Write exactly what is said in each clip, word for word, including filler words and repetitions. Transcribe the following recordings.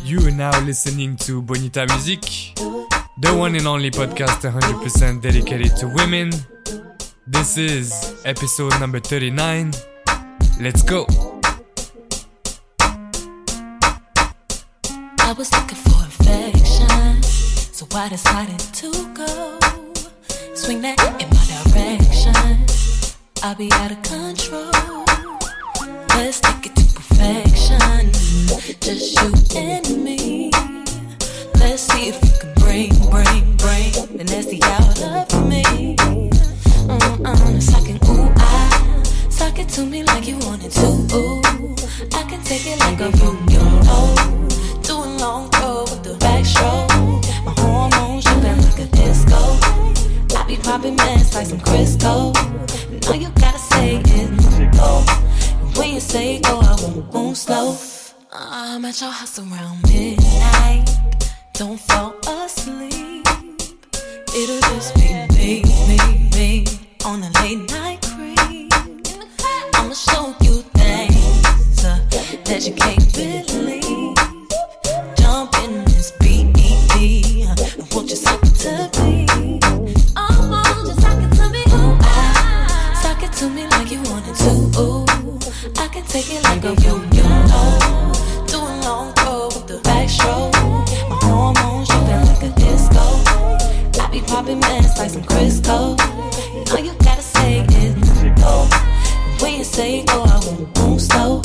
You are now listening to Bonita Music, the one and only podcast one hundred percent dedicated to women. This is episode number thirty-nine. Let's go! I was looking for affection, so I decided to go. Swing that in my direction, I'll be out of control. Let's take it to perfection, just you and me. Let's see if you can bring, bring, bring the nasty out of me. Mm-mm, it's like an ooh, ah. Suck it to me like you wanted to, ooh. I can take it like a boom, you know. Doing long throw with the backstroke. My hormones jumping like a disco. I be popping mess like some Crisco. Now you gotta say it, go. When you say go, I won't move slow. I'm at your house around midnight. Don't fall asleep. It'll just be me, me, me on a late night creep. I'ma show you things uh, that you can't believe. Jump in this B E D. Won't you suck it to me? Oh, won't you suck it to me? Ooh, ah. Suck it to me like you wanted to. Ooh, I can take it like a yo-yo. Doing long throw with the backstroke. My hormones jumping like a disco. I be popping mess like some Crisco. Now you gotta say it, go. When you say go, I won't move slow.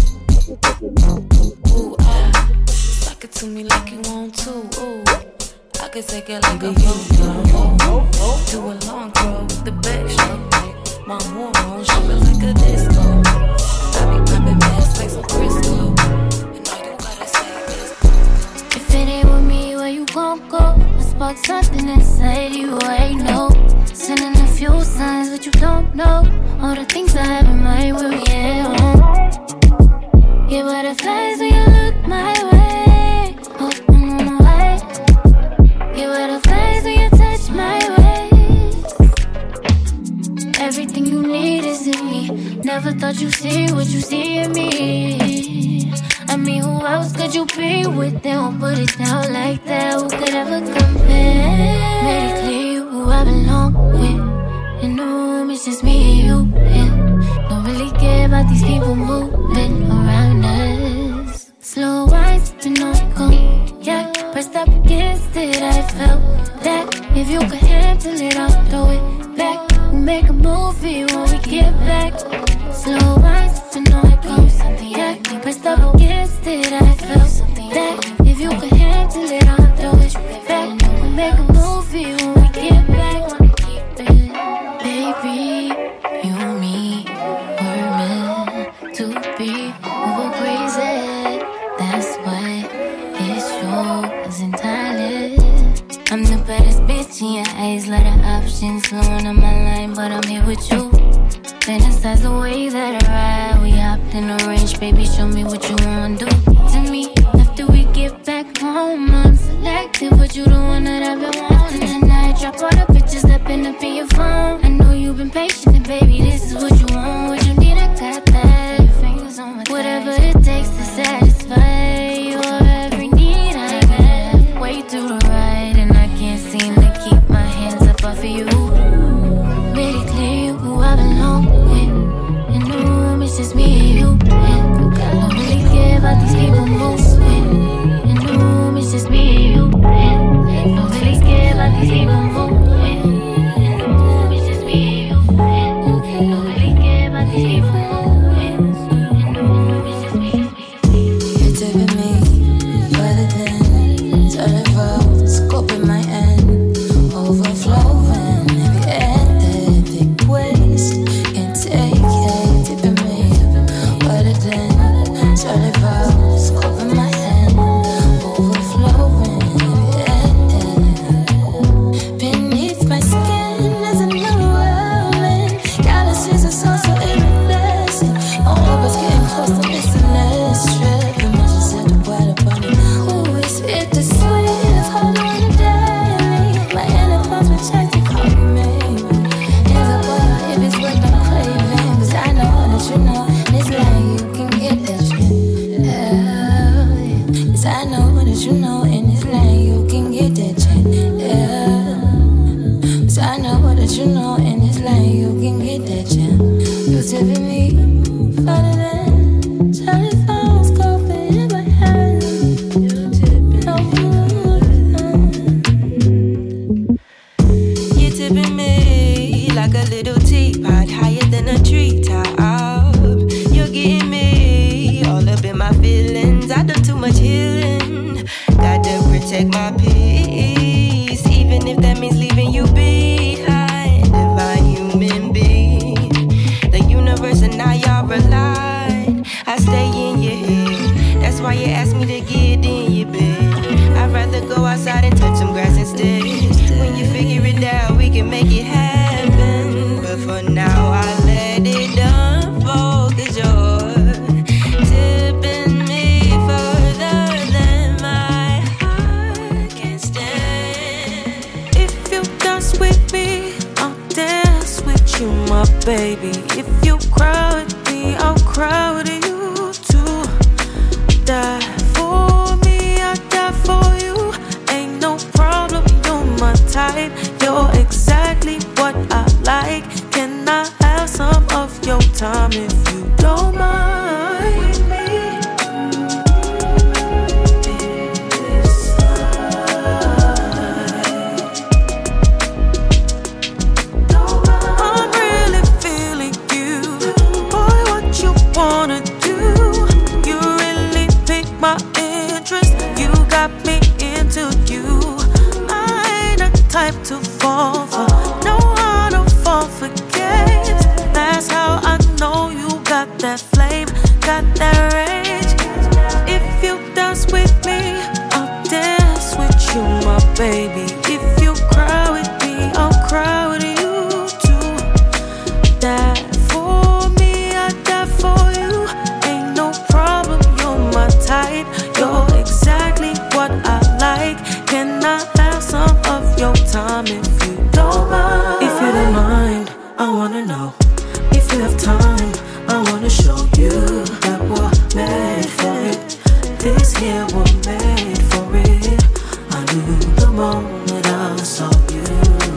Ooh, ah. Suck it to me like you want to. Ooh, I can take it like a yo-yo. Do a long throw with the backstroke. My hormones jumping like a disco. I be popping mess like some Crisco. And all you gotta say is if it ain't with me, where you gon' go? I spark something inside you, I know. Sending a few signs, but you don't know all the things I have in my will, yeah. Oh. Get butterflies when you look my way. Oh, I'm on my way. Get butterflies when you touch my waist. Everything you need is in me. Never thought you'd see what you see in me. I mean, who else could you be with? They won't put it down like that. Who could ever compare? Made it clear who I belong with. In the room, it's just me and you. And don't really care about these people moving around us. Slow wine, sipping on cognac. Pressed up against it, I felt that if you could handle it, I'll throw it back. We'll make a movie when we get back. Slow wine, sipping on cognac. Pressed up against it, I felt that if you could handle it, I'll throw it back. We'll make a movie when we get back. Baby, you and me were meant to be. We were crazy, that's why it shows entirely. I'm the baddest bitch in your eyes, lot of options flowing on my line, but I'm here with you. Fantasize the way that I ride. We hopped in a range, baby, show me what you wanna do to me. After we get back home, I'm selective, but you the one that I've been wanting. Tonight, drop all the pictures that been up in your phone. I know you've been patient, and baby, this is what you want. What you need, I got that. Your fingers on my thighs. Whatever it takes to satisfy your every need, I got. Way through the ride, and I can't seem to keep my hands up off of you. Made it clear who I belong with. In the room, it's just me and you. And don't really care about these people moving. In the room, it's just me and you. And don't really care about these people moving. In the room, it's just me and you. And don't really care. You're tipping me farther than telephones go in my hand. You're tipping me. You're tipping me like a little teapot, higher than a treetop. You're getting me all up in my feelings. I done too much healing. Gotta protect my peace, even if that means leaving you behind. Divine human being, the universe and I are aligned. I stay in your head, that's why you asked me to get in your bed. I'd rather go outside and touch some grass instead. When you figure it out, we can make it happen. But for now, I let it unfold, 'cause you're tipping me further than my heart can stand. If you dance with me, I'll dance with you, my baby. If you cry with me, I'll cry with you too. Die for me, I'll die for you. Ain't no problem, you're my type. You're exactly what I like. Can I have some of your time if you don't mind? I'm really feeling you. Boy, what you wanna do? You really pick my interest. You got me into you. I ain't the type to fall for. No, I don't fall for games. That's how I know you got that flame, got that rage. If you dance with me, I'll dance with you, my baby. If you cry with me, I'll cry with you too. Die for me, I die for you. Ain't no problem, you're my type. You're exactly what I like. Can I have some of your time if you don't mind? If you don't mind, I wanna know. If you have time, I wanna show you that we're made for it. This here we're made for it. I knew the moment I saw you,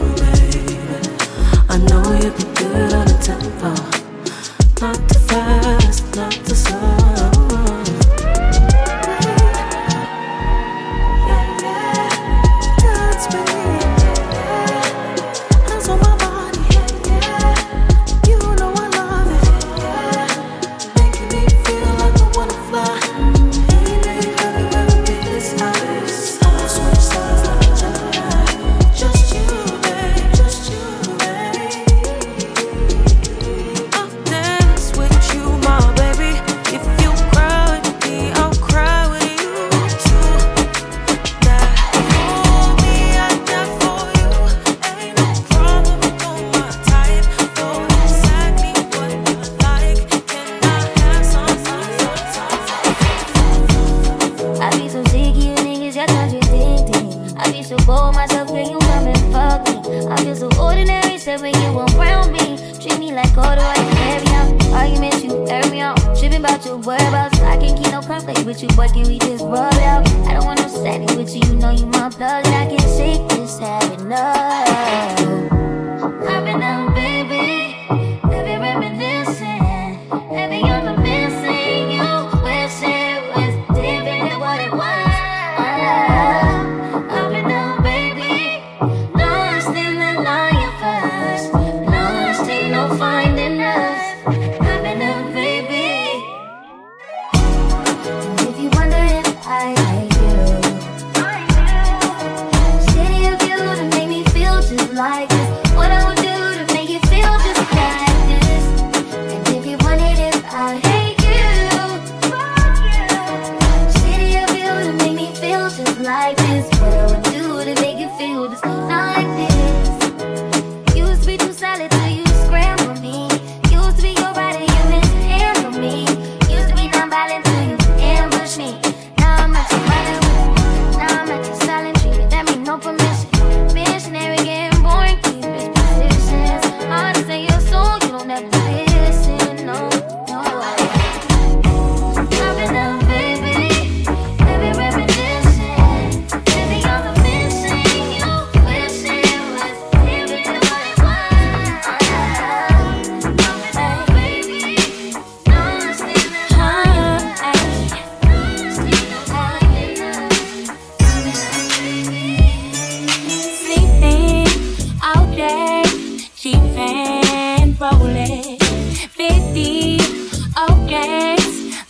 baby. I know you'd be good on the tempo. Not too fast, not too slow. Used to be your body,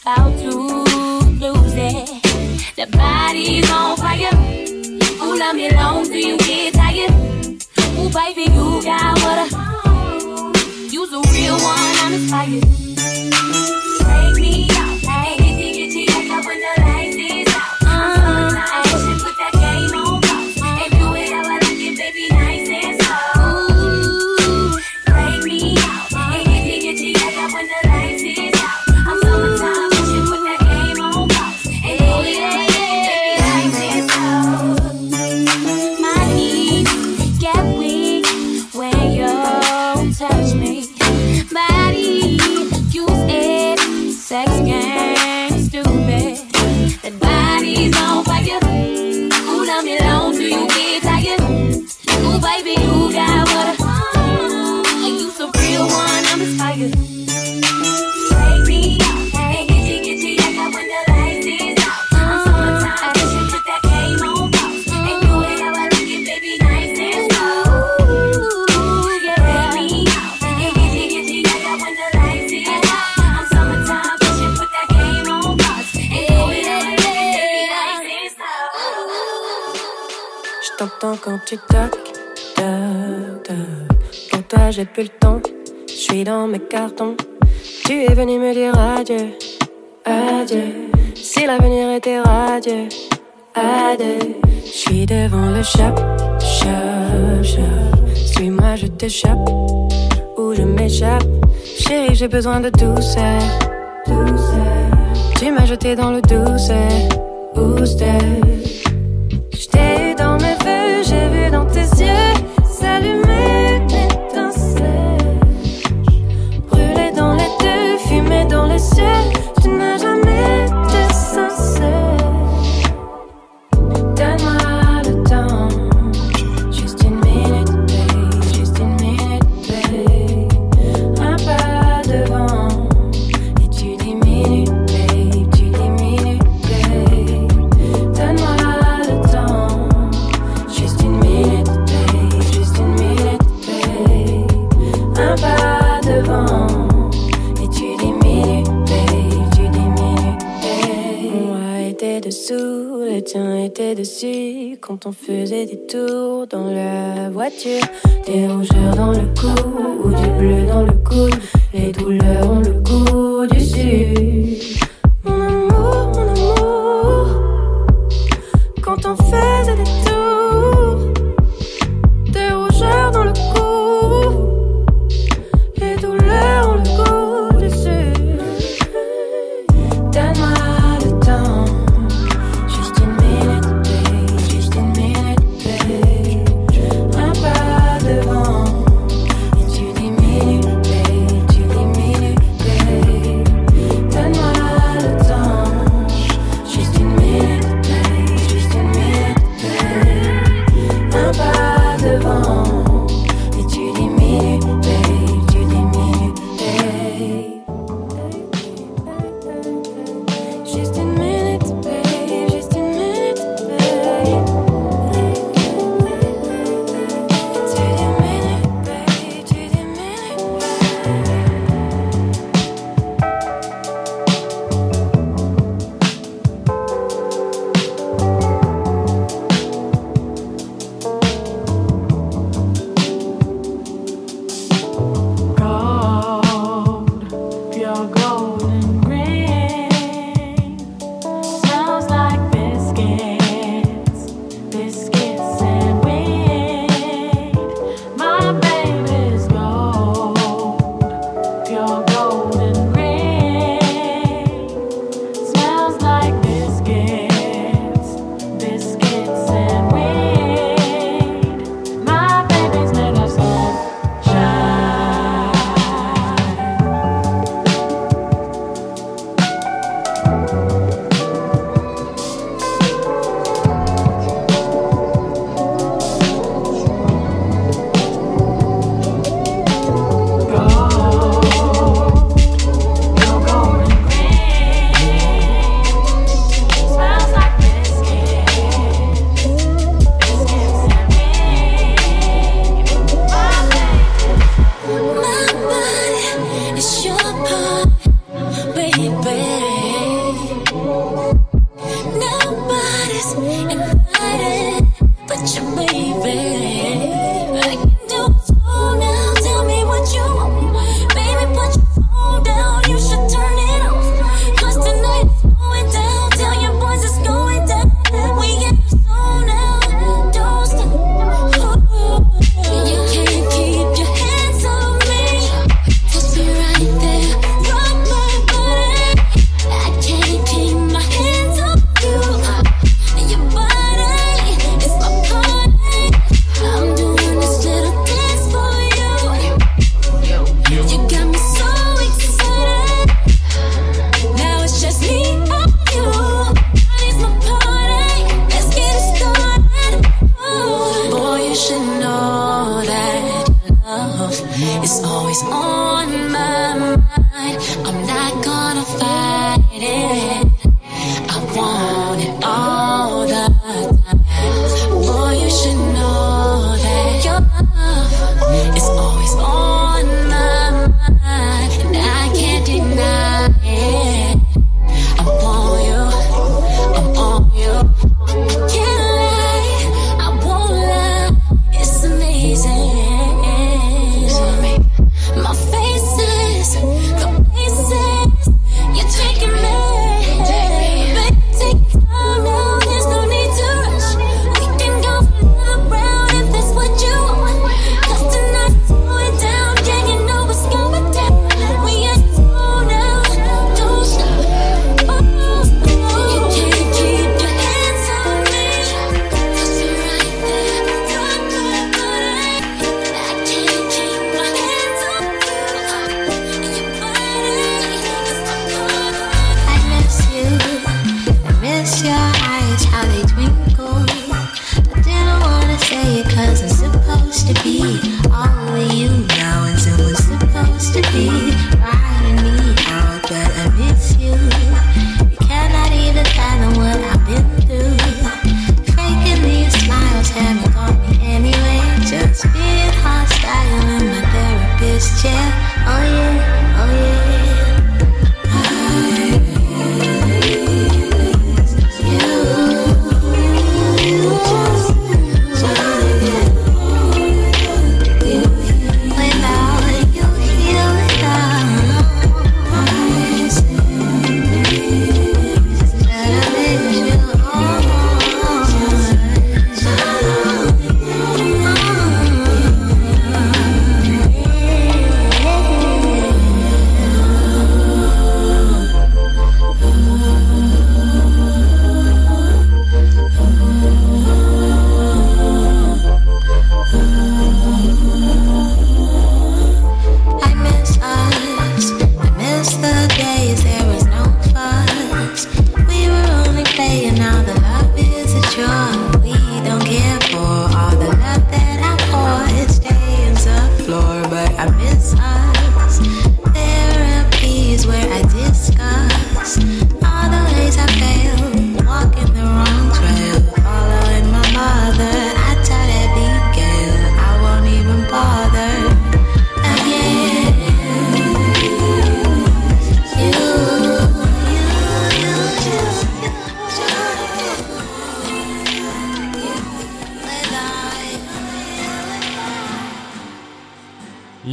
about to lose it. The body's on fire. Ooh, love me long till you get tired. Ooh, baby, you got what I. You's a real one, I'm inspired. Take me out, hey, get you, get you, get up when the lights is out. I'm so tired, put that game on pause. And do it how I like it, baby, nice and slow. Ooh, take me out, hey, get you, get you, get up when the lights is out. I'm so tired, put that game on pause. And do it how I like it, baby, nice and slow. My knees get weak when you touch me. Body, use it, sex game, stupid. That body's on fire. Ooh, love me long till you get tired. Ooh, baby, you got what I. And you so real one, I'm inspired. Take me out, hey, get you, get you, I got when the lights is out. I'm summertime, I should put that game on pause. And do it how I like it, baby, nice and slow. Ooh, yeah. Take me out, hey, get you, get you, I got when the lights is out. I'm summertime, I should put that game on pause. And do it how I like it, baby, nice and slow. Je t'entends quand tu toques, toc, toc. Pour toi j'ai plus le temps, je suis dans mes cartons. Tu es venu me dire adieu, adieu. Si l'avenir était radieux, adieu. Je suis devant le shop, shop, shop. Suis-moi, je t'échappe, ou je m'échappe. Chérie, j'ai besoin de douceur, douceur. Tu m'as jeté dans le douceur, booster. Je t'ai eu dans mes feux, j'ai vu dans tes yeux s'allumer une étincelle. Brûler dans les deux, fumer dans les cieux. Tu n'as jamais été sincère. Donne-moi le temps, juste une minute, babe, juste une minute, babe. Un pas devant, et tu diminues, babe, tu diminues, babe. Donne-moi le temps, juste une minute, babe, juste une minute, babe. Un pas devant, et tu diminues, babe, tu diminues, babe. Moi était dessous, le tien était dessus. Quand on faisait des tours dans la voiture, des rougeurs dans le cou ou du bleu dans le coude. Les douleurs ont le goût du sud. Mon amour, mon amour, quand on faisait des tours, des rougeurs dans le cou, les douleurs ont le goût du sud. Donne-moi le temps, juste une minute, babe, juste une minute, babe. Un pas devant, et tu diminues, babe, tu diminues, babe. Donne-moi le temps, juste une minute, babe, juste une minute, babe. Un pas devant, et tu diminues, babe, tu diminues, babe. Juste une minute, babe, juste une minute, babe. Tu diminues, babe, tu diminues, Gold, pure golden green, smells like biscuits, biscuits and weed. My baby's gold, pure golden green, smells like biscuits, biscuits and weed. My baby's made of sunshine. My body is your part, baby.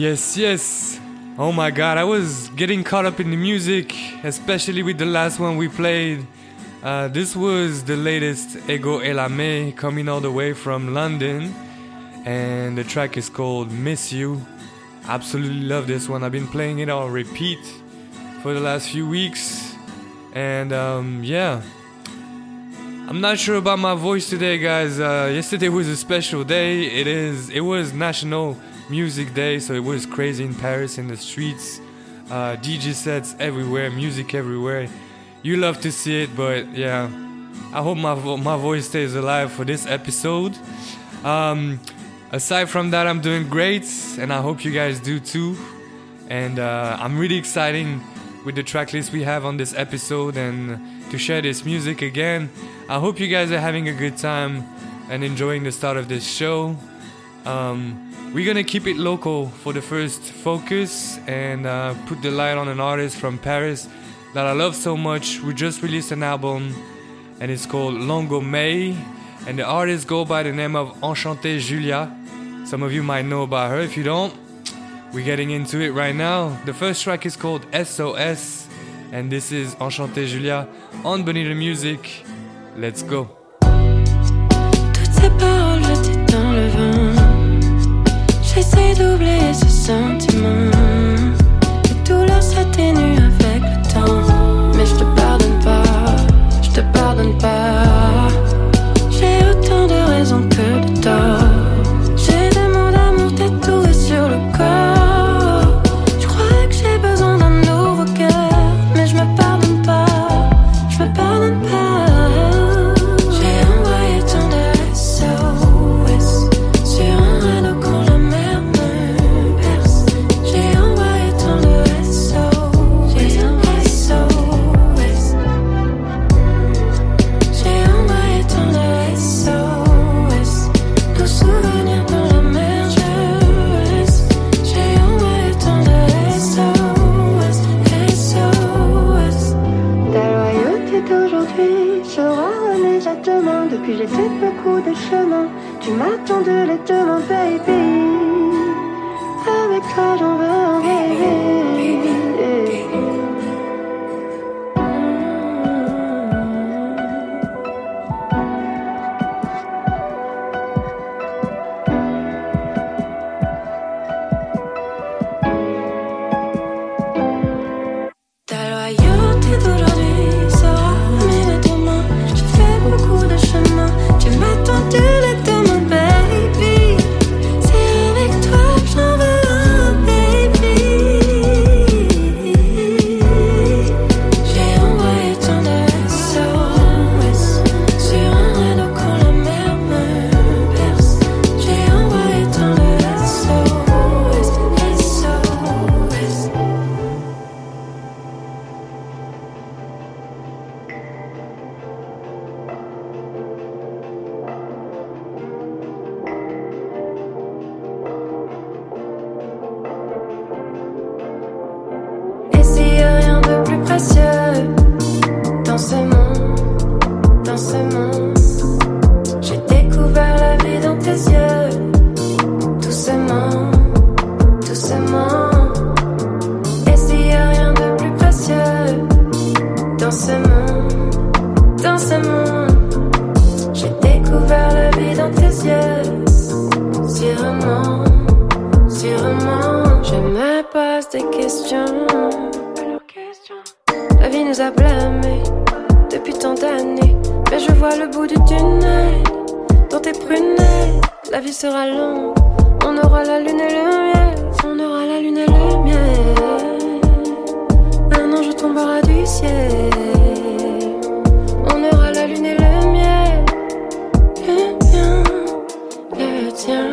Yes, yes. Oh my god, I was getting caught up in the music, especially with the last one we played. Uh, this was the latest Ego Elame, coming all the way from London. And the track is called Miss You. Absolutely love this one. I've been playing it on repeat for the last few weeks. And um, yeah. I'm not sure about my voice today, guys. Uh, yesterday was a special day. It is. It was National Music Day, so it was crazy in Paris in the streets. Uh, D J sets everywhere, music everywhere. You love to see it, but yeah, I hope my vo- my voice stays alive for this episode. Um, aside from that, I'm doing great, and I hope you guys do too. And uh, I'm really excited with the track list we have on this episode and to share this music again. I hope you guys are having a good time and enjoying the start of this show. Um, we're gonna keep it local for the first focus and uh, put the light on an artist from Paris that I love so much. We just released an album and it's called Longo May, and the artist go by the name of Enchantée Julia. Some of you might know about her. If you don't, we're getting into it right now. The first track is called S O S, and this is Enchantée Julia on Bonita Music. Let's go. Toutes ces paroles jetées dans le vent, j'essaie d'oublier ce sentiment. Les douleurs s'atténuent avec le temps, mais je te pardonne pas, je te pardonne pas. J'ai autant de raisons que de torts. J'ai des mots d'amour tatoués sur le corps. Je crois que j'ai besoin d'un nouveau cœur, mais je me pardonne pas, je me pardonne pas. Depuis j'ai fait beaucoup de chemin, tu m'attends de les demain, baby. Avec toi j'en veux un baby. Ta loyauté d'aujourd'hui sera amie de demain. J'ai fait beaucoup de chemin, tu m'attends de les demain, baby. C'est avec toi que j'en veux un baby. J'ai envoyé tant de S O S sur un radeau quand la mer me berce. J'ai envoyé tant de S O S, S O S. Et s'il y a rien de plus précieux dans ce monde, dans ce monde, j'ai découvert la vie dans tes yeux, doucement, doucement. Et s'il y a rien de plus précieux dans ce monde, dans ce monde, j'ai découvert la vie dans tes yeux, sûrement, sûrement. Je me pose des questions. La vie nous a blâmés depuis tant d'années, mais je vois le bout du tunnel dans tes prunelles. La vie sera longue, on aura la lune et le miel, on aura la lune et le miel. Un ange tombera du ciel, on aura la lune et le miel, le mien, le tien.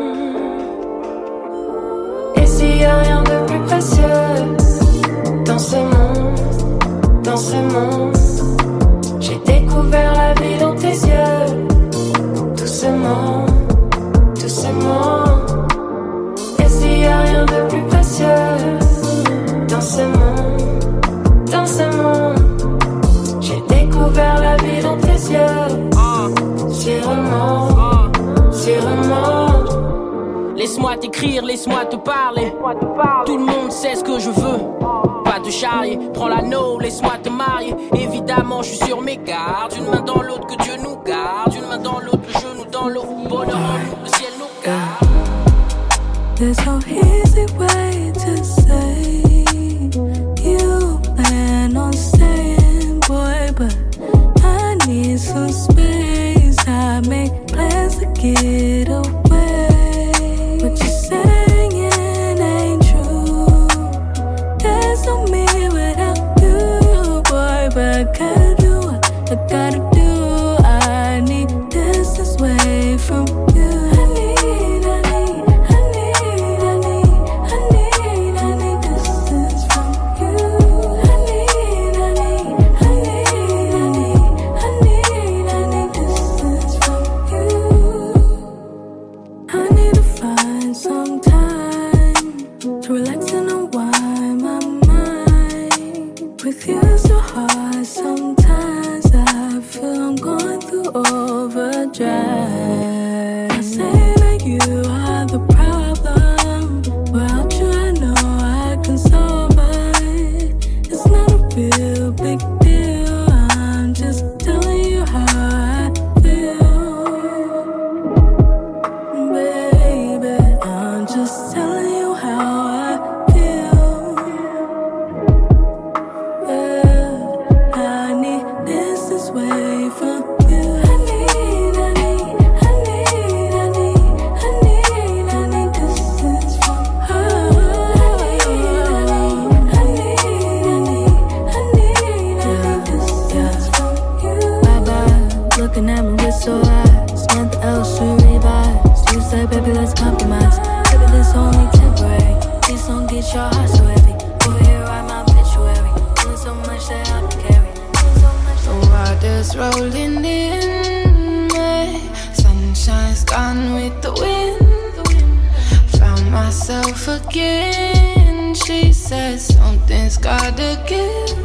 Et s'il y a rien de plus précieux dans ce monde, dans ce monde, j'ai découvert la vie dans tes yeux, doucement, doucement. Et s'il y a rien de plus précieux dans ce monde, dans ce monde, j'ai découvert la vie dans tes yeux, sûrement, sûrement. Laisse-moi laisse-moi t'écrire, laisse-moi te parler. Tout le monde sait ce que je veux. Pas te charrier, prends l'anneau, laisse-moi te marier. Évidemment, je suis sur mes gardes. Une main dans l'autre, que Dieu nous garde. Une main dans l'autre, le genou dans l'eau. Bonheur en nous, le ciel nous garde. There's no easy way to say you plan on staying, boy, but I need some space. I make plans to get away. What you're saying ain't true. There's no me without you, boy, but I gotta do what I gotta do. I need distance away from you. I need, I need, I need, I need, I need, I need distance from you. I need, I need, I need, I need, I need, I need distance from you. I need to find some time to relax and unwind my mind. With you so hard, sometimes I feel I'm going through overdrive. I say that you are the problem. Without you, I know I can solve it. It's not a real big deal. I'm just telling you how I feel, baby. I'm just telling you how I feel. Yeah, I need distance away from you. I need, I need, I need, I need, I need, I need distance from her. I need, I need, I need, I need, I need distance from you. Bye bye, looking at me with so eyes. Nothing else to revise. You say, baby, let's compromise. Baby, this only temporary. Please don't get your heart so heavy. Over here, write my obituary. Feeling so much that I can carry. Feeling so much The water's rolling in me. Sunshine's gone with the wind. Found myself again. She said something's gotta give.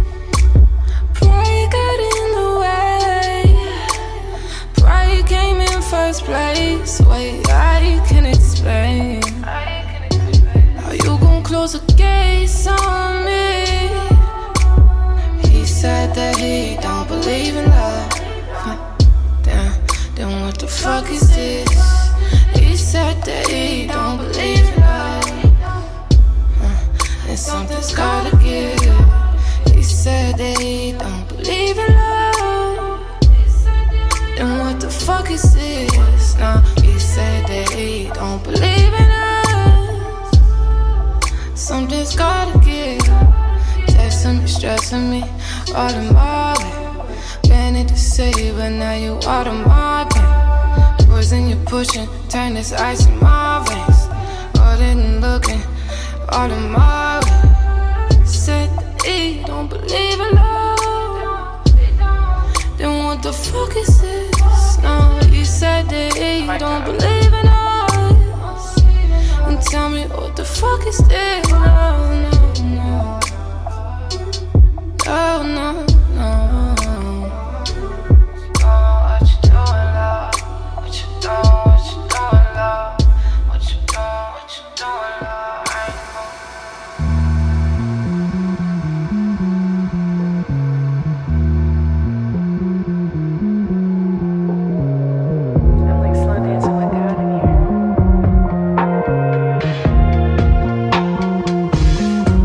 Pride got in the way. Pride came in first place. Wait, I can explain. How you gon' close the gates on me? He said that he don't believe in love. Huh. Damn, then what the fuck is this? He said that he don't believe in love. Huh. And something's gotta give. He said that he don't believe in love. Then what the fuck is this? Nah, he said that he don't believe in us. Something's gotta give. Texting me, stressing me, all in my way. Planning to say, but now you out of my pain. Poison you pushing, turn this ice in my veins. All in looking, all in my way. Said that he don't believe in love. Then what the fuck is this? No, he said that he don't believe in us. And tell me what the fuck is this? No, no, no. Oh, no, no. What you doing, love? What you doing, what you doing, love? What you doing, what you doing, love? I I'm like slow dancing with God in here.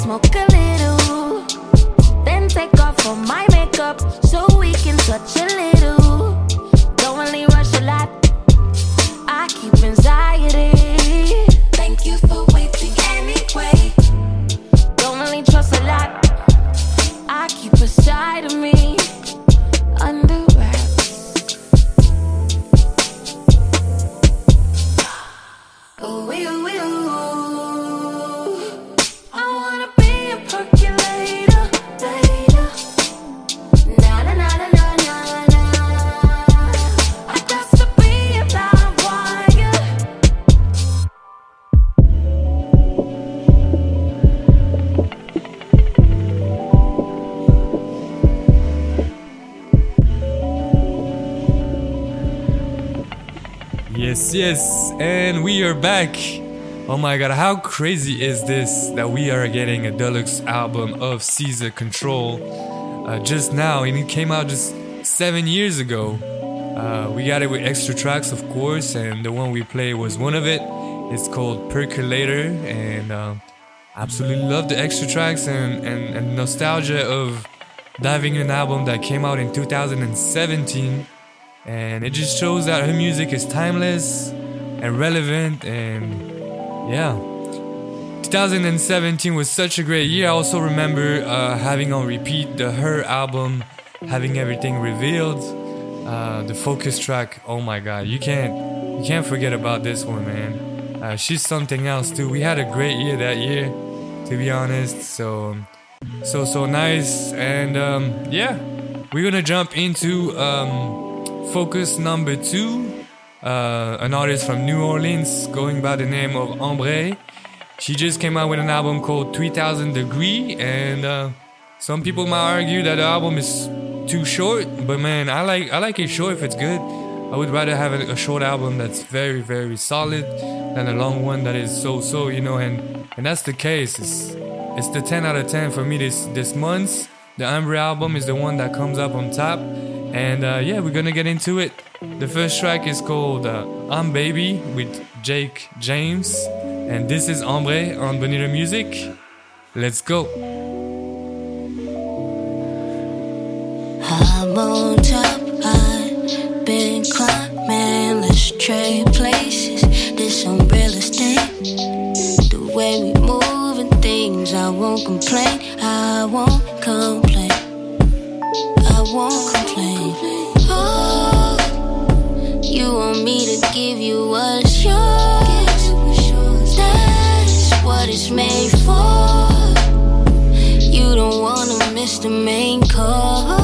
smoke a little. Then take off all my makeup so we can touch a little. Don't really rush a lot, I keep anxiety. Thank you for waiting anyway. Don't really trust a lot, I keep a side of me under wraps. Ooh, ooh, ooh. I wanna be a percolator later. Na na na na na na na. I got to be a live wire. Yes, yes, and we are back. Oh my god, how crazy is this that we are getting a deluxe album of Caesar Control uh, just now, and it came out just seven years ago. Uh, we got it with extra tracks, of course, and the one we played was one of it. It's called Percolator, and uh, absolutely love the extra tracks and, and, and nostalgia of diving in an album that came out in two thousand seventeen. And it just shows that her music is timeless and relevant, and yeah. twenty seventeen was such a great year. I also remember uh, having on repeat the Her album, Having Everything Revealed, uh, the focus track. Oh my god, you can't you can't forget about this one, man. Uh, she's something else too. We had a great year that year, to be honest. So so so nice, and um, yeah, we're gonna jump into um, focus number two. Uh, an artist from New Orleans going by the name of Ambre. She just came out with an album called three thousand Degree, and uh, some people might argue that the album is too short, but man, I like I like it short if it's good. I would rather have a, a short album that's very very solid than a long one that is so-so, you know, and and that's the case. It's it's the ten out of ten for me this this month. The Ambre album is the one that comes up on top, and uh, yeah, we're gonna get into it. The first track is called uh, I'm Baby with Jake James, and this is Ambre on Bonita Music. Let's go. I'm on top, I've been climbing, let's trade places, this some real estate. The way we moving things, I won't complain, I won't complain, I won't complain. Oh, you want me to give you what's yours, that's what it's made for. You don't wanna miss the main cause.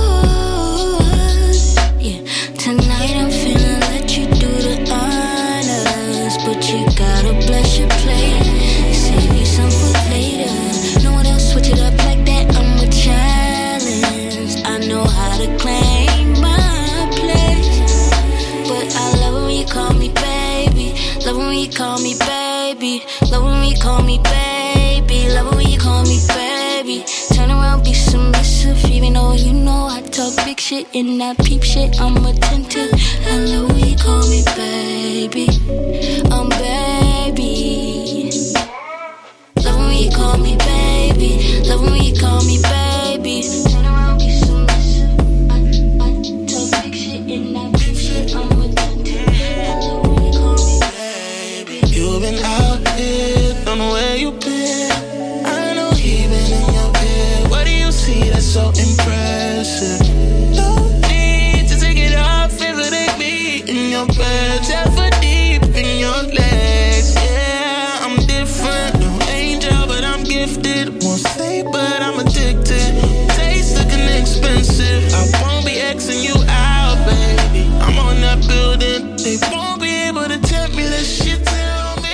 Yeah, tonight I'm finna let you do the honors, but you gotta bless your plate. Save you some for later. No one else switch it up like that. I'm a challenge. I know how to claim my place, but I love it when you call me baby. Love it when you call me baby. Love it when you call me baby. Love it when you call me baby. Turn around, be submissive, even though you know I talk big shit and I peep shit. I'm attentive. I love when you call me baby. I'm baby. Love when you call me baby. Love when you call me baby. Turn around, be submissive. I, I talk big shit and I peep shit. I'm attentive. I love when you call me baby. You've been out here, don't know where you been. I know he been in your bed. What do you see that's so impressive? No need to take it off if it ain't me in your bed. Tap for deep in your legs. Yeah, I'm different. No angel, but I'm gifted. Won't say, but I'm addicted. Taste looking expensive. I won't be Xing you out, baby. I'm on that building. They won't be able to tempt me. This shit tell me.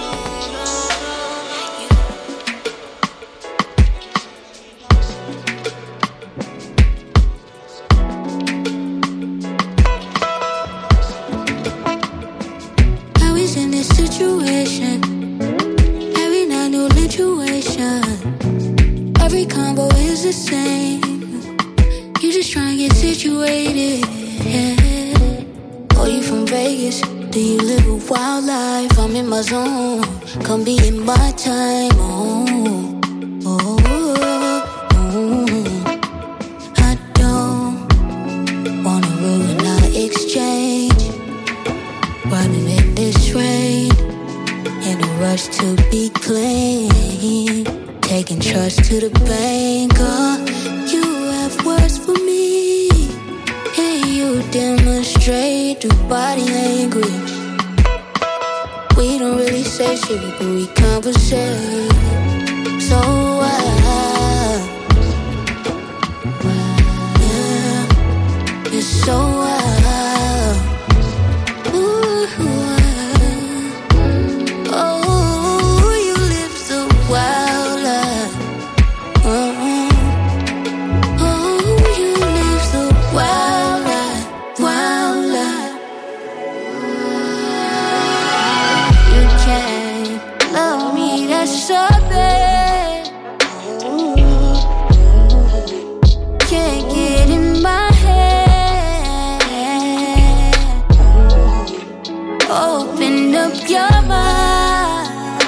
I was in this situation. Every night, new situation. Every combo is the same. You just try and get situated. Yeah. Oh, you from Vegas? Do you live a wild life? I'm in my zone. Come be in my time. Oh, trust to the banker. You have words for me, and you demonstrate through body language. We don't really say shit, but we conversate. So why? Yeah, it's so wild. Ooh, oh, you live so wild life. Oh, oh, you live so wild life, wild life. You can't love me, that's so bad. Can't get in my head. Open up your mind.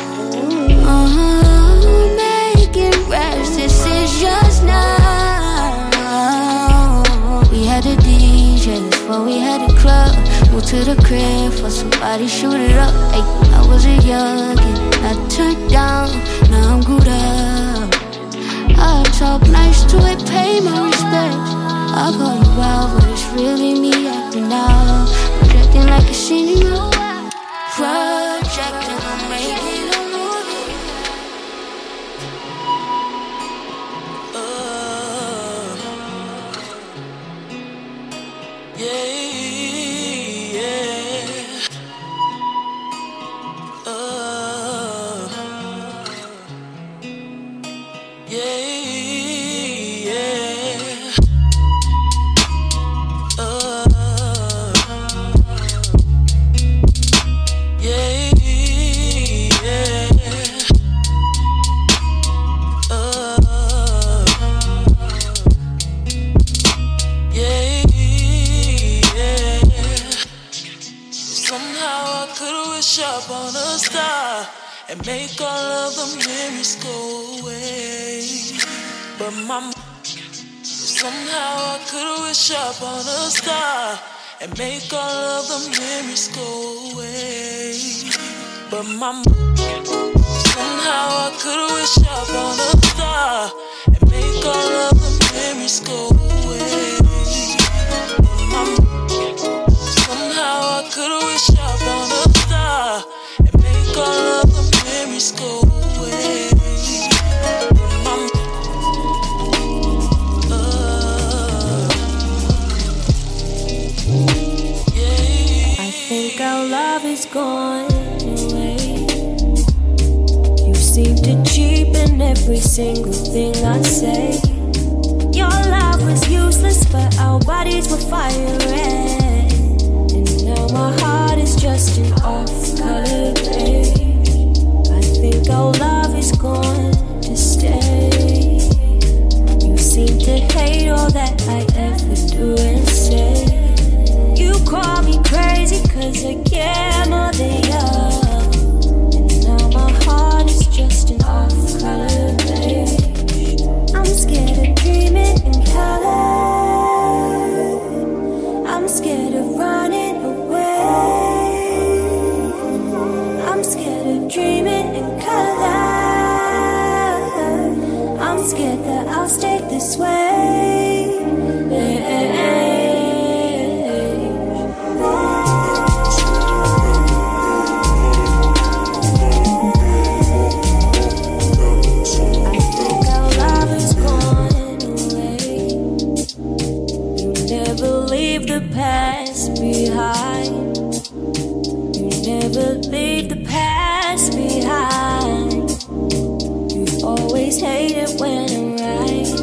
Oh, making rash decisions now. We had the D Js before we had the club. Moved to the crib for somebody shoot it up. Ay, I was a youngin', I turned down, now I'm good up. I talk nice to it, pay my respects. I call you out, but it's really me acting out. Projecting like a senior. Projecting, I'm making a movie. Uh, yeah, yeah. Uh, yeah, yeah. Uh, yeah, yeah. Uh, yeah, yeah. Somehow I could wish up on a star and make all of the memories go away. But my somehow I could wish up on a star and make all of the memories go away. But my somehow I could wish up on a star and make all of the memories go away. But my somehow I could wish up on a star and make all of the memories go away. My, uh, yeah. I think our love is gone away. You seem to cheapen every single thing I say. Your love was useless, but our bodies were fire red. And now my heart is just an off-color page. I think our love is going to stay. You seem to hate all that I ever do and say. You call me crazy cause I care more than you. And now my heart is just an off-color page. I'm scared of dreaming in color. I'm scared of running away. I'm scared of dreaming in color. I'm scared that I'll stay this way. I think our love is gone away. You never leave the past behind. You never leave the past behind. You always hate it when I'm right.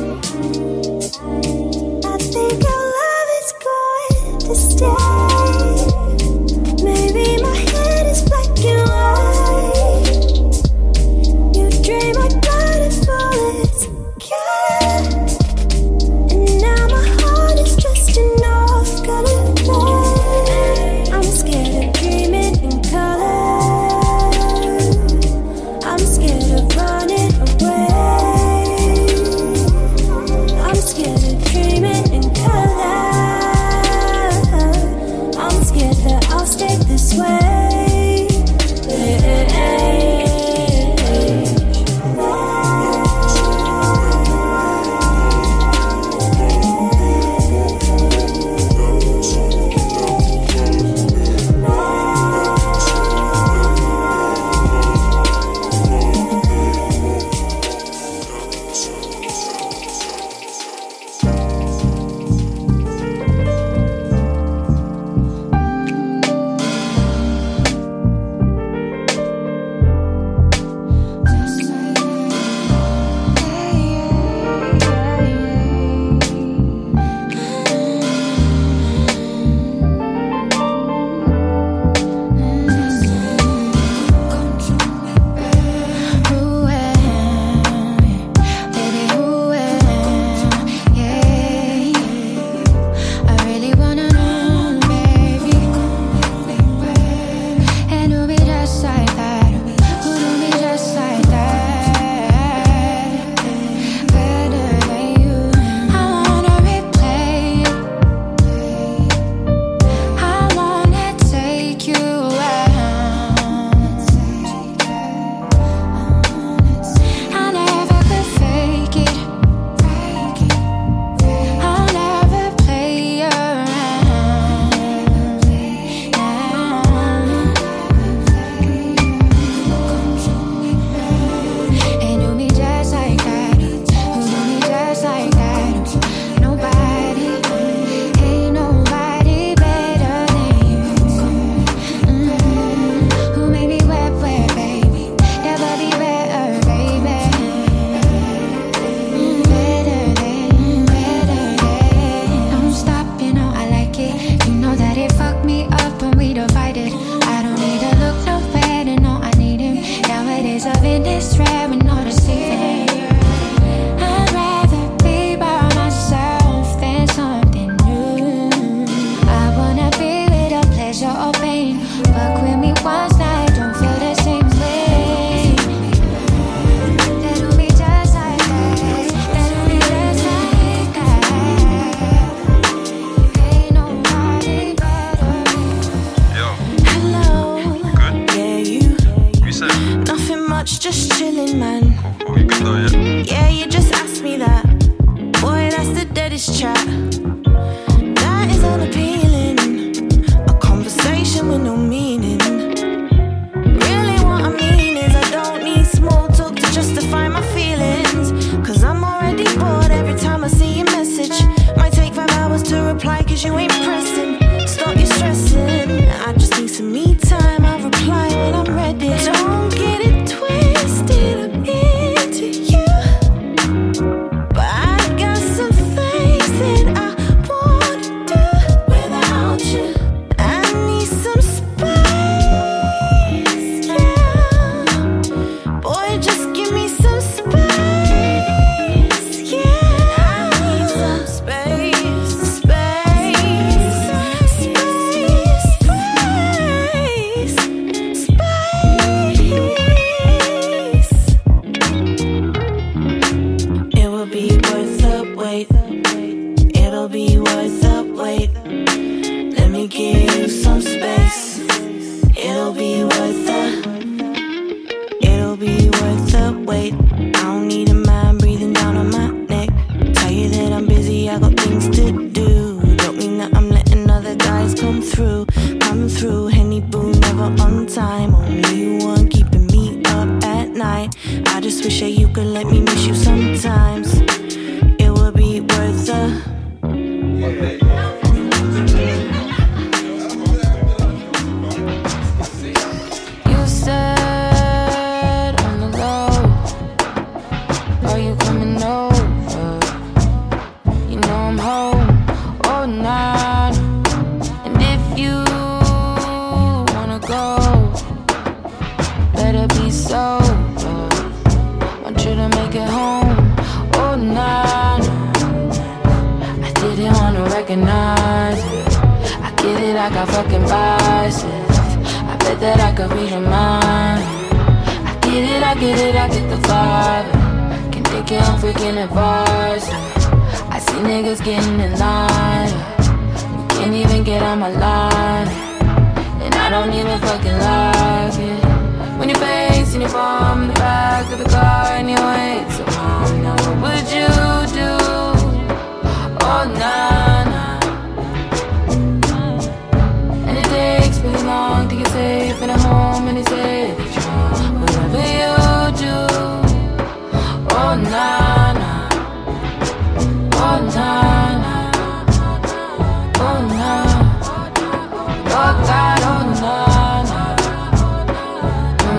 I think our love is going to stay. Maybe my head is black and white. You drain my blood and bullets, yeah. And now my heart is just an off-color play. I'm scared of dreaming in color. I'm scared of running away. Yeah, you just asked me that. Boy, that's the deadest chat. That is unappealing. A conversation with no meaning. Really what I mean is I don't need small talk to justify my feelings. Cause I'm already bored every time I see your message. Might take five hours to reply cause you ain't pressing. Stop your stressing. I just need some me time. I'll reply when I'm ready. Don't get it twisted, I'm into you. But I got some things that I wanna do without you. I need some space, yeah. Boy, just give me some space, yeah. I need some space, space, space, space, space. It will be worth the wait. It'll be worth the wait. Let me give you some space. It'll be worth the. It'll be worth the wait. I don't need a man breathing down on my neck. Tell you that I'm busy, I got things to do. Don't mean that I'm letting other guys come through. Come through, Henny Boo, never on time. Only you one keeping me up at night. I just wish that you could let me miss you sometimes. It would be worth the. You said on the low, are you coming over? You know I'm home all night. And if you wanna go, better be sober. Want you to make it home all night. I didn't wanna recognize it. I get it, I got fucking biases. I bet that I could read your mind. I get it, I get it, I get the vibe. Can take it on freaking advice. I see niggas getting in line. You can't even get on my line. And I don't even fucking like it. When your face and your palm in the back of the car and you wait so long. Now what would you do? Oh, nah, nah. And it takes really long to get safe in a home and they say that you're wrong. Whatever you do. Oh, nah, nah. Oh, nah, nah. Oh, nah. Oh, God, oh, nah, nah. Oh,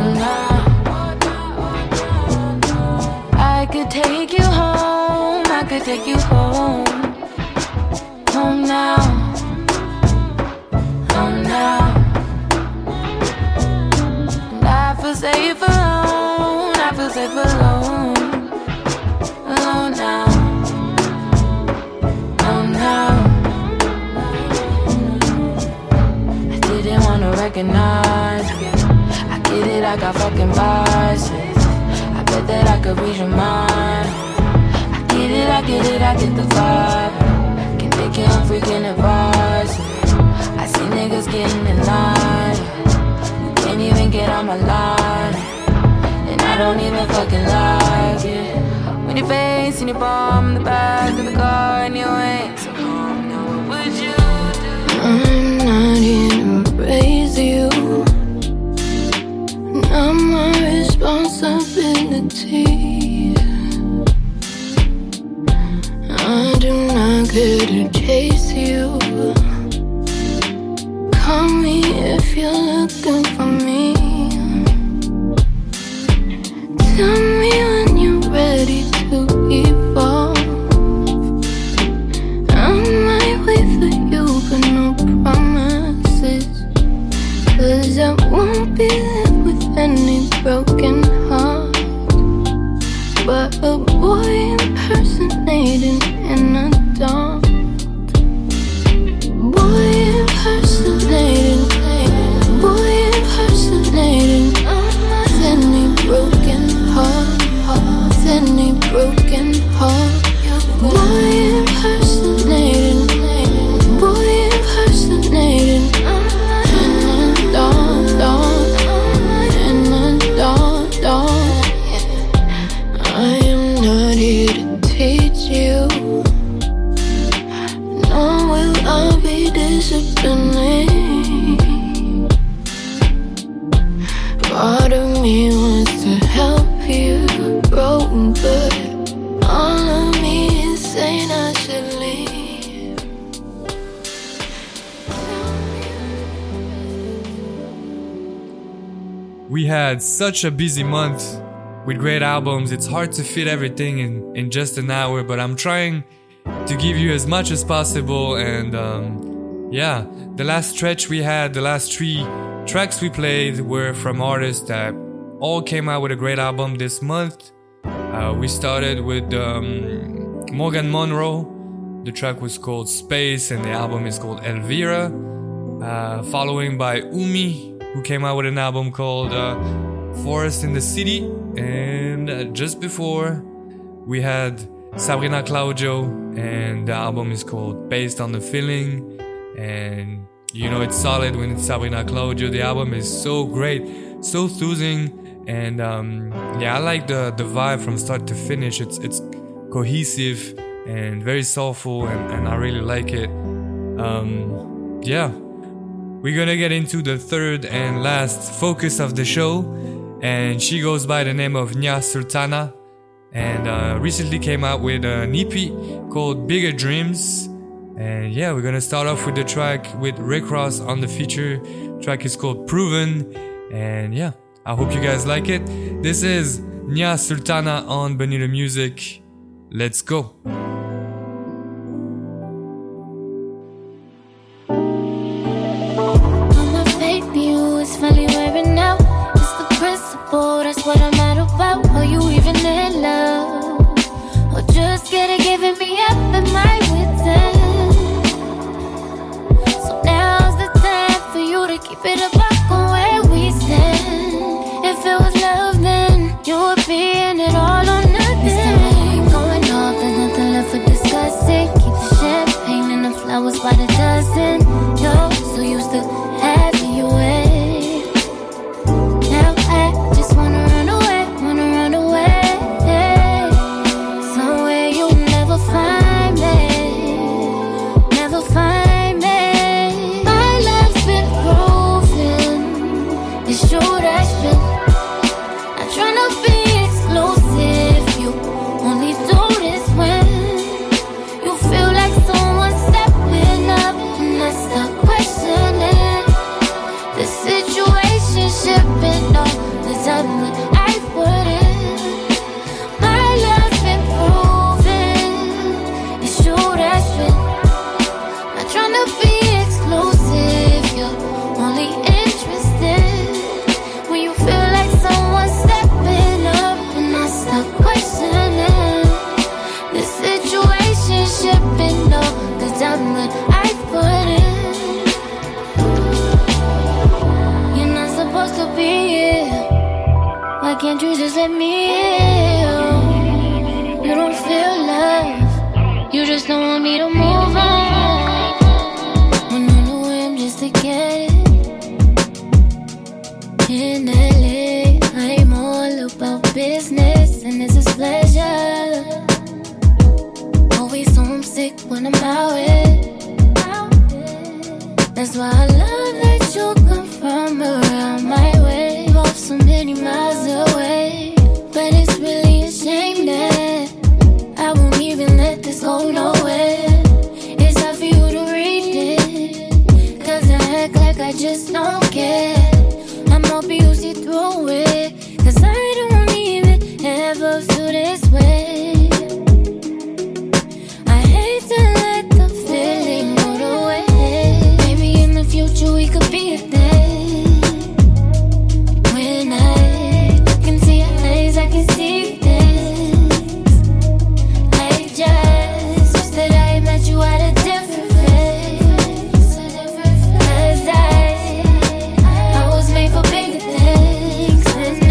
nah. I could take you home. I could take you home. Home now. Home now. And I feel safe alone. I feel safe alone. Alone now. Alone now. I didn't wanna recognize it. I get it, I got fucking biases. I bet that I could read your mind. I get it, I get it, I get the vibe. Can take it on freaking advice. I see niggas getting in line. You can't even get on my line. And I don't even fucking like it. When your face and your palm in the back of the car and you ain't so calm. Now what would you do? I'm not here to raise you. Not my responsibility. I do not care to chase you. Call me if you're looking for me. Tell me when you're ready to evolve. I might wait for you, but no promises. Cause I won't be left with any broken heart. But a boy impersonating an adult. Boy impersonating, boy impersonating. not here to teach you. Nor will I be disciplining. Part of me wants to help you grow, but all of me is saying I should leave. We had such a busy month with great albums. It's hard to fit everything in, in just an hour, but I'm trying to give you as much as possible. And um, yeah, the last stretch we had, the last three tracks we played were from artists that all came out with a great album this month. Uh, we started with um, Morgan Monroe. The track was called Space and the album is called Elvira. Uh, following by Umi, who came out with an album called uh, Forest in the City. And uh, just before, we had Sabrina Claudio, and the album is called Based on the Feeling. And you know it's solid when it's Sabrina Claudio. The album is so great, so soothing, and um, yeah, I like the, the vibe from start to finish. It's it's cohesive and very soulful, and, and I really like it. Um, yeah. We're gonna get into the third and last focus of the show, and she goes by the name of Nya Sultana, and uh, recently came out with an E P called Bigger Dreams. And yeah, we're gonna start off with the track with Rick Ross on the feature. The track is called Proven, and yeah, I hope you guys like it. This is Nya Sultana on Bonita Music. Let's go. Finally wearing out. It's the principle, that's what I'm mad about. Are you even in love? Or just getting giving me up in my wits end? So now's the time for you to keep it a buck on where we stand. If it was love, then you would be in it all or nothing. This time ain't going off, there's nothing left for discussing. Keep the champagne and the flowers by the dozen. You're so used to having your way. Can't you just let me in? You don't feel love, you just don't want me to move on. When on the whim just to get it. In L A, I'm all about business and this is pleasure. Always homesick when I'm out with. That's why I love that you come from around my way. Both so many miles away, but it's really a shame that I won't even let this go nowhere. It's hard for you to read it, cause I act like I just don't care. I'm hoping you see through it, cause I don't even ever feel this way. I hate to let the feeling go to waste. Maybe in the future we could be a thing. I can see things. I just wish that I met you at a different phase. Cause I, I was made for bigger things. And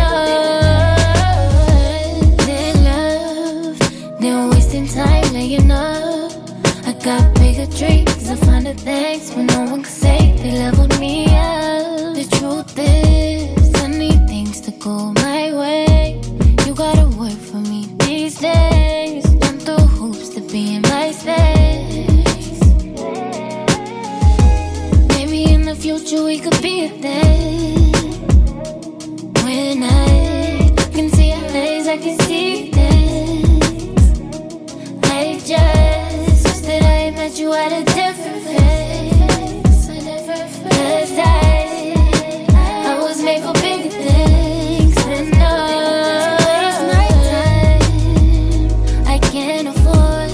nothing love, they're wasting time laying up. I got bigger dreams, I find the thanks when no one can say they leveled me up. The truth is, I need things to go my way. You gotta work for me these days. we could be there. When I can see your eyes, I can see things. I just wish that I met you at a different place. Cause I, I was made for bigger things. And no, it's my time I can't afford.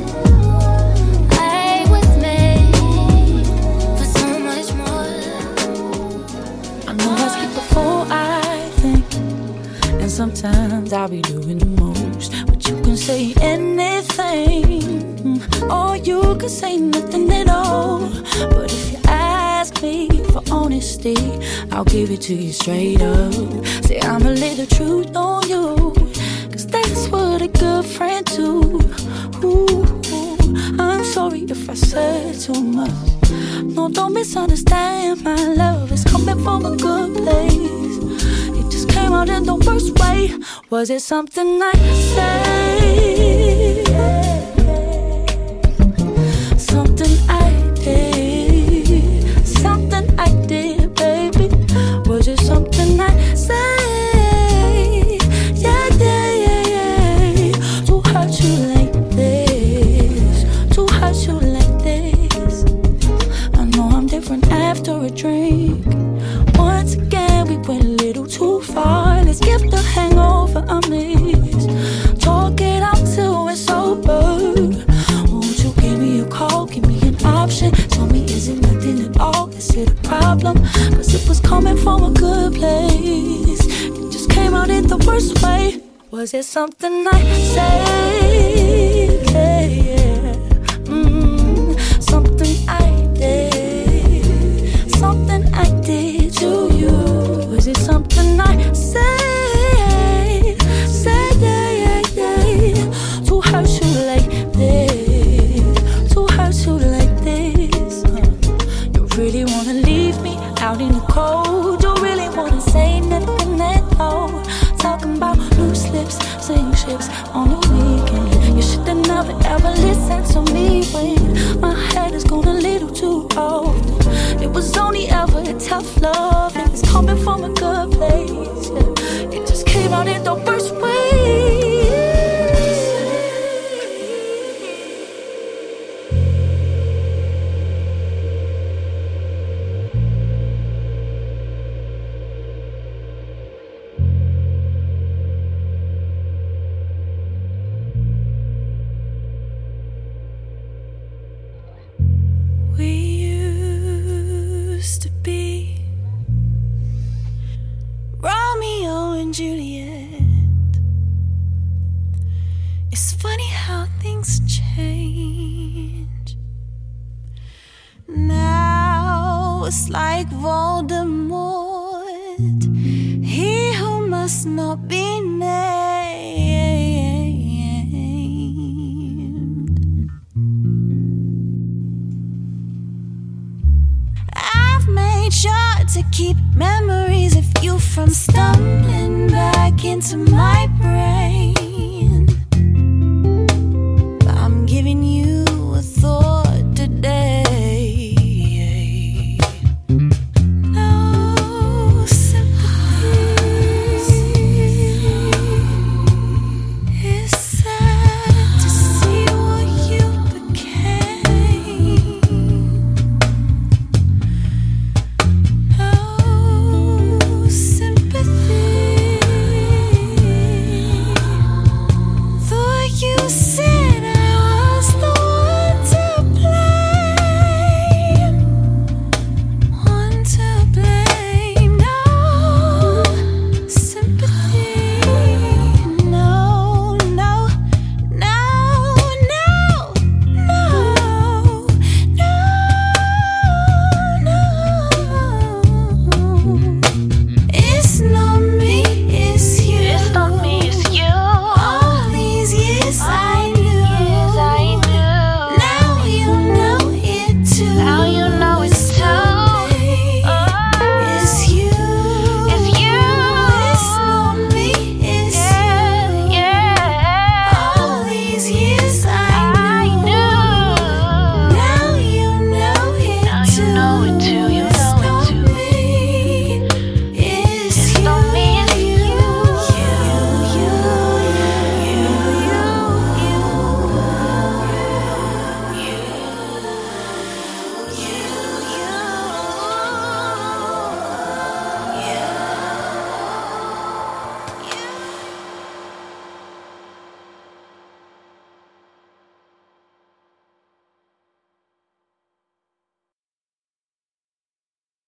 I was made for so much more. I know I skipped before I think, and sometimes I'll be doing the most. But you can say anything, or you can say nothing at all. But if you ask me for honesty, I'll give it to you straight up. Say I'm a little truth on you, cause that's what a good friend do. Ooh, I'm sorry if I said too much. No, don't misunderstand, my love is coming from a good place. It just came out in the worst way. Was it something I said? Something I did? Something I did, baby? Was it something I said? Yeah, yeah, yeah, yeah. To hurt you like this, to hurt you like this. I know I'm different after a drink. Once again, we went a little too far. Let's give the hangover a miss. Talk it out till we're sober. Won't you give me a call, give me an option? Tell me, is it nothing at all? Is it a problem? Cause it was coming from a good place. It just came out in the worst way. Was it something I said? Yeah, yeah. Mm, something I did. Something I did to you. Was it something I said? Said, yeah, yeah, yeah. To hurt you like this, to hurt you like this. uh, You really wanna leave me out in the cold? You really wanna say nothing at all? Talking about loose lips, sink ships on the weekend. You should've never ever listened to me when my head has gone a little too old. It was only ever a tough love. It was coming from a good place. Yeah. It just came out in the worst way. We used to be Romeo and Juliet. It's funny how things change. Now it's like Voldemort, he who must not be named. I've made sure to keep memories of you from stumbling back into my brain.